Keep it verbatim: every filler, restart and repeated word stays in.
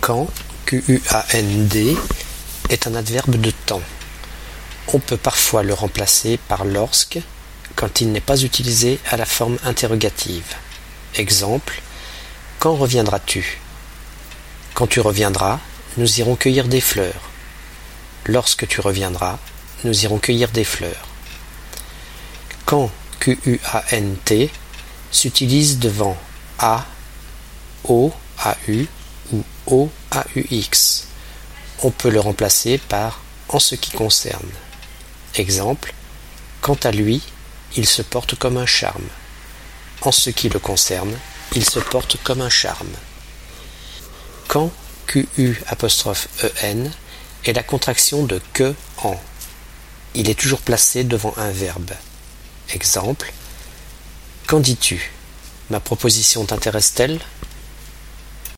Quand, Q U A N D, est un adverbe de temps. On peut parfois le remplacer par lorsque, quand il n'est pas utilisé à la forme interrogative. Exemple, quand reviendras-tu? Quand tu reviendras, nous irons cueillir des fleurs. Lorsque tu reviendras, nous irons cueillir des fleurs. Quand, Q U A N T, s'utilise devant A, O, A U ou O, A U X. On peut le remplacer par en ce qui concerne. Exemple, quant à lui, il se porte comme un charme. En ce qui le concerne, il se porte comme un charme. Quand, Q U apostrophe E N, est la contraction de que en. Il est toujours placé devant un verbe. Exemple, qu'en dis-tu? Ma proposition t'intéresse-t-elle?